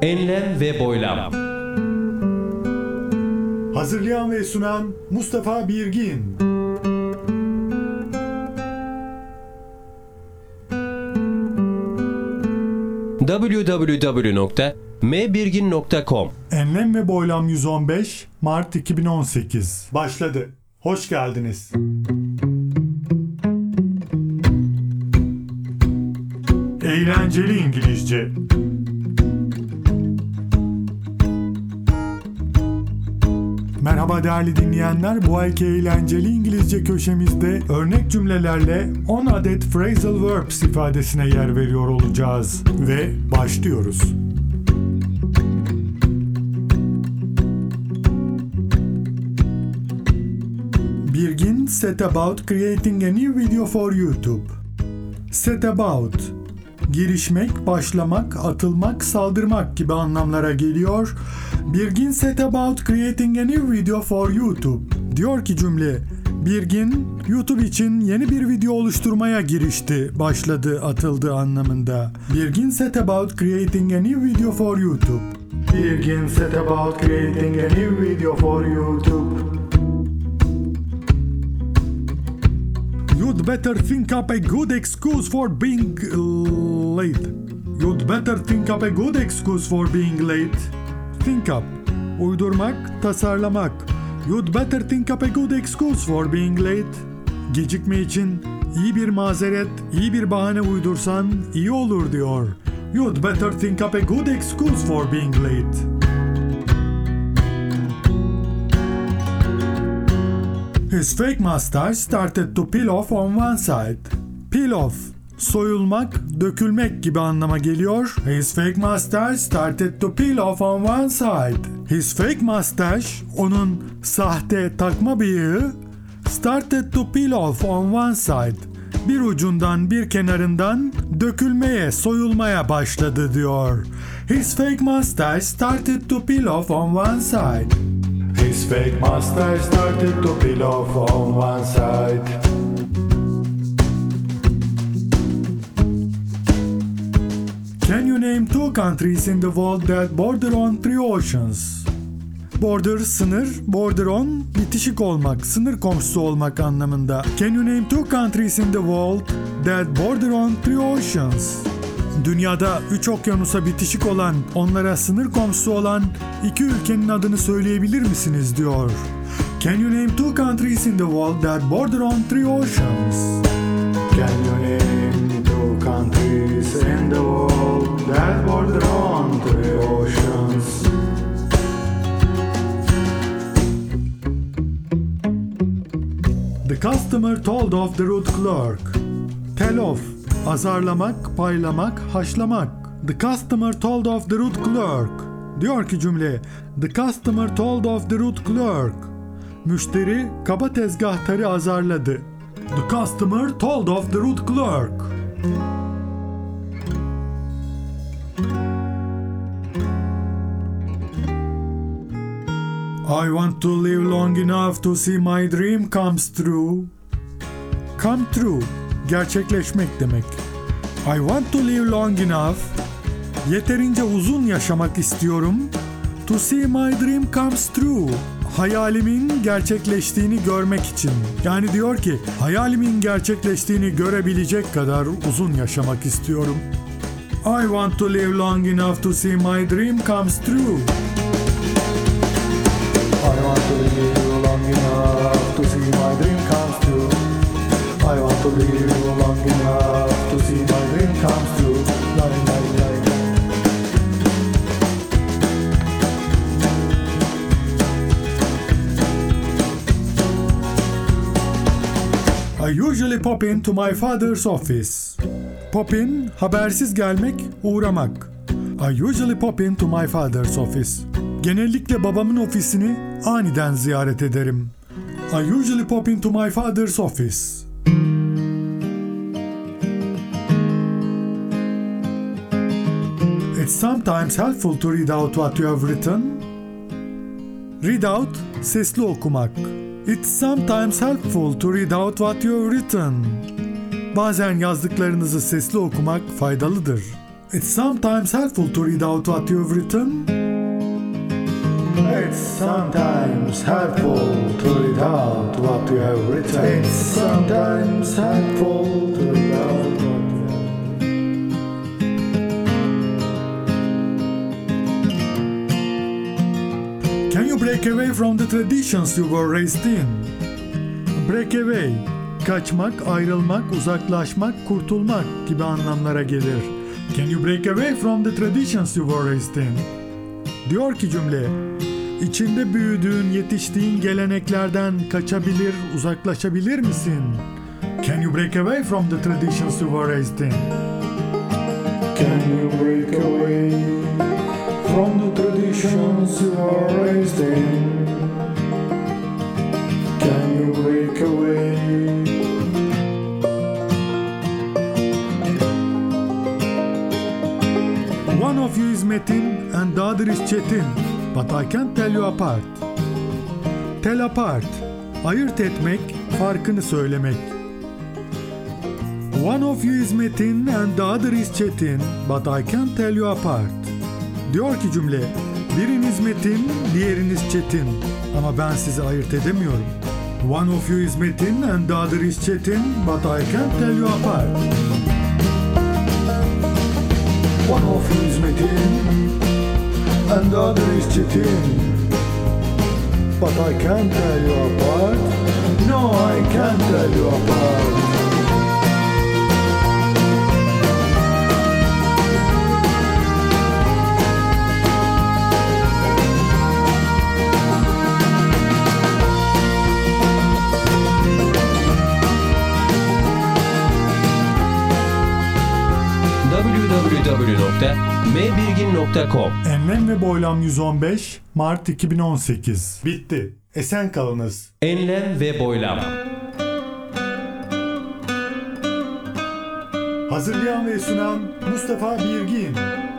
Enlem ve boylam. Hazırlayan ve sunan Mustafa Birgin. www.mbirgin.com Enlem ve Boylam 115 Mart 2018 başladı. Hoş geldiniz. Eğlenceli İngilizce. Merhaba değerli dinleyenler, bu ayki eğlenceli İngilizce köşemizde örnek cümlelerle 10 adet phrasal verbs ifadesine yer veriyor olacağız. Ve başlıyoruz. Birgin set about creating a new video for YouTube. Set about, girişmek, başlamak, atılmak, saldırmak gibi anlamlara geliyor. Birgin set about creating a new video for YouTube. Diyor ki cümle, Birgin YouTube için yeni bir video oluşturmaya girişti, başladı, atıldı anlamında. Birgin set about creating a new video for YouTube. Birgin set about creating a new video for YouTube. You'd better think up a good excuse for being late. You'd better think up a good excuse for being late. Think up, uydurmak, tasarlamak. You'd better think up a good excuse for being late. Gecikme için iyi bir mazeret, iyi bir bahane uydursan iyi olur diyor. You'd better think up a good excuse for being late. His fake mustache started to peel off on one side. Peel off, soyulmak, dökülmek gibi anlama geliyor. His fake mustache started to peel off on one side. His fake mustache, onun sahte takma bıyığı, started to peel off on one side. Bir ucundan, bir kenarından dökülmeye, soyulmaya başladı diyor. His fake mustache started to peel off on one side. His fake mustache started to peel off on one side. Can you name two countries in the world that border on three oceans? Border, sınır, border on, bitişik olmak, sınır komşusu olmak anlamında. Can you name two countries in the world that border on three oceans? Dünyada 3 okyanusa bitişik olan, onlara sınır komşusu olan 2 ülkenin adını söyleyebilir misiniz diyor. Can you name two countries in the world that border on three oceans? Can you name two countries in the world that border on three oceans? The customer told off the rude clerk. Tell off, azarlamak, paylamak, haşlamak. The customer told off the rude clerk. Diyor ki cümle, the customer told off the rude clerk. Müşteri kaba tezgahtarı azarladı. The customer told off the rude clerk. I want to live long enough to see my dream comes true. Come true, gerçekleşmek demek. I want to live long enough, yeterince uzun yaşamak istiyorum. To see my dream comes true, hayalimin gerçekleştiğini görmek için. Yani diyor ki, hayalimin gerçekleştiğini görebilecek kadar uzun yaşamak istiyorum. I want to live long enough to see my dream comes true. I want to live long enough to see my dream comes true. I want to live long enough to see my dream comes true. I usually pop into my father's office. Pop in, habersiz gelmek, uğramak. I usually pop into my father's office. Genellikle babamın ofisini aniden ziyaret ederim. I usually pop into my father's office. It's sometimes helpful to read out what you have written. Read out, sesli okumak. It's sometimes helpful to read out what you have written. Bazen yazdıklarınızı sesli okumak faydalıdır. It's sometimes helpful to read out what you've written. It's sometimes helpful to read out what you have written. It's sometimes helpful to read out what you have written. Can you break away from the traditions you were raised in? Break away, kaçmak, ayrılmak, uzaklaşmak, kurtulmak gibi anlamlara gelir. Can you break away from the traditions you were raised in? Diyor ki cümle, içinde büyüdüğün, yetiştiğin geleneklerden kaçabilir, uzaklaşabilir misin? Can you break away from the traditions you were raised in? Can you break away from the traditions you were raised in? Can you break away? One of you is Metin and the other is Çetin, but I can't tell you apart. Tell apart, ayırt etmek, farkını söylemek. One of you is Metin and the other is Çetin, but I can't tell you apart. Diyor ki cümle, biriniz Metin, diğeriniz Çetin, ama ben sizi ayırt edemiyorum. One of you is Metin and the other is Çetin, but I can't tell you apart. One of you is Metin and the other is Çetin, but I can't tell you apart. No, I can't tell you apart. www.mbirgin.com Enlem ve Boylam 115 Mart 2018. Bitti. Esen kalınız. Enlem ve Boylam. Hazırlayan ve sunan Mustafa Birgin.